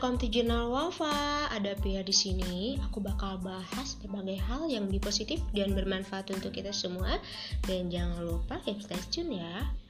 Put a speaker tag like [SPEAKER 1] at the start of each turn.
[SPEAKER 1] welcome to Jurnal Wafa. Ada Pia di sini. Aku bakal bahas berbagai hal yang lebih positif dan bermanfaat untuk kita semua. Dan jangan lupa stay tune ya.